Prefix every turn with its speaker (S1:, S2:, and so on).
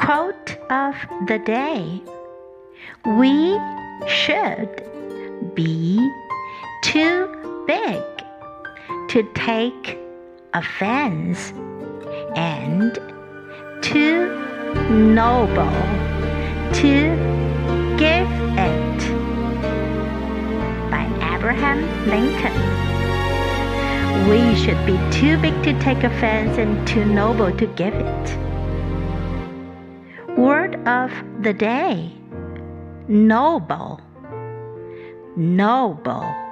S1: Quote of the day: We should be too big to take offense and too noble to give it. By Abraham Lincoln. We should be too big to take offense and too noble to give it. Word of the day: noble. Noble.